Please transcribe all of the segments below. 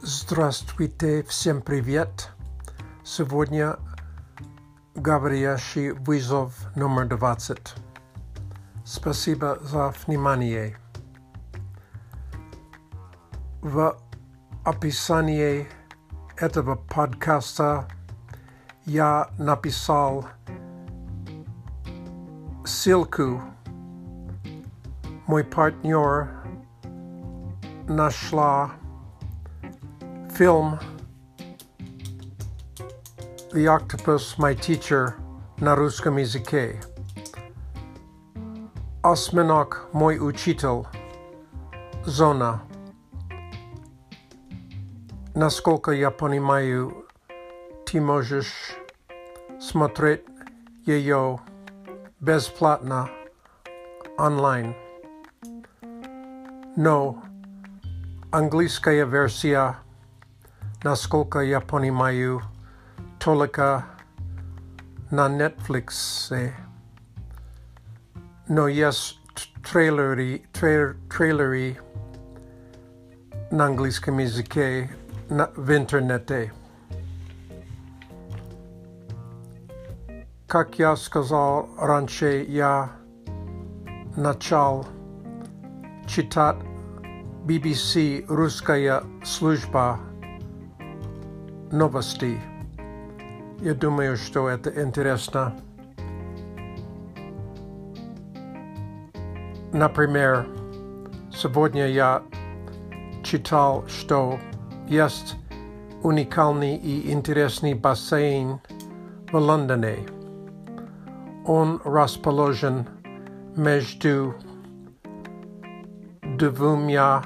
Здравствуйте, всем привет! Сегодня говорящий вызов номер 20. Спасибо за внимание. В описании этого подкаста я написал ссылку. Мой партнер нашла фильм The Octopus, My Teacher на русском языке. Осьминог, мой учитель. Зона. Насколько я понимаю, ты можешь смотреть ее бесплатно онлайн. Но английская версия, насколько я понимаю, только на Netflix. Но есть трейлеры на английском языке в интернете. Как я сказал раньше, я начал читать BBC «Русская служба новостей». Я думаю, что это интересно. Например, сегодня я читал, что есть уникальный и интересный бассейн в Лондоне. Он расположен между двумя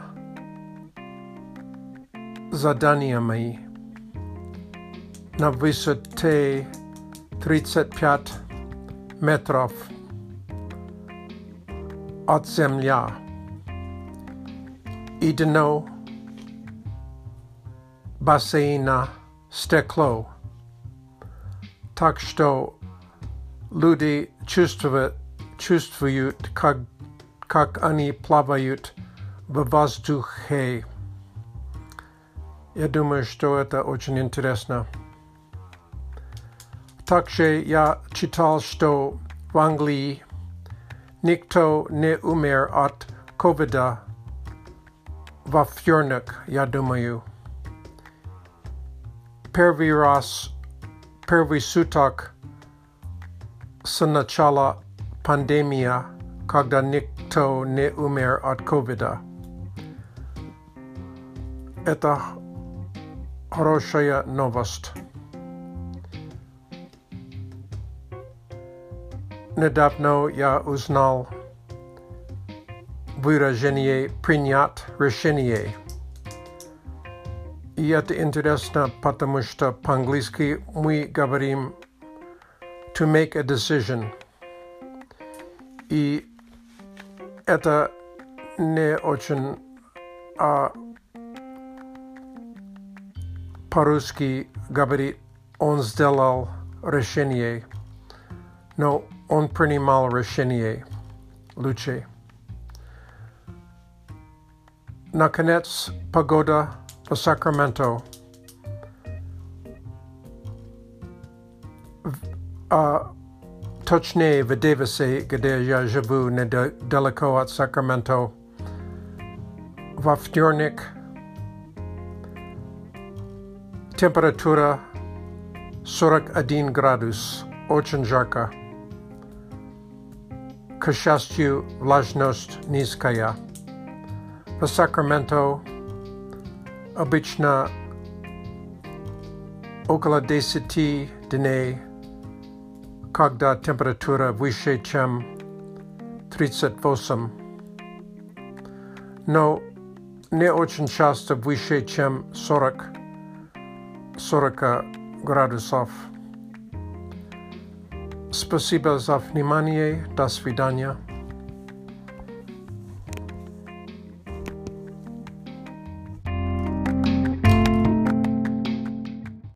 зданиями на высоте 35 метров от земли. И дно бассейна стекло. Так что люди чувствуют, как они плавают в воздухе. Я думаю, что это очень интересно. Также я читал, что в Англии никто не умер от ковида во вторник, я думаю. Первый суток с начала пандемии, когда никто не умер от ковида. Это хорошая новость. Недавно я узнал выражение «принять решение». И это интересно, потому что по-английски мы говорим «to make a decision». И это не очень по-русски говорит «он сделал решение», но он принимал решение лучше. Наконец, погода в Сакраменто. Точнее, в Дэвисе, где я живу недалеко от Сакраменто, во вторник температура 41 градус, очень жарко. К счастью, влажность низкая. В Сакраменто обычно около 10 дней, когда температура выше, чем 38. Но не очень часто выше, чем 40 градусов. Спасибо за внимание. До свидания.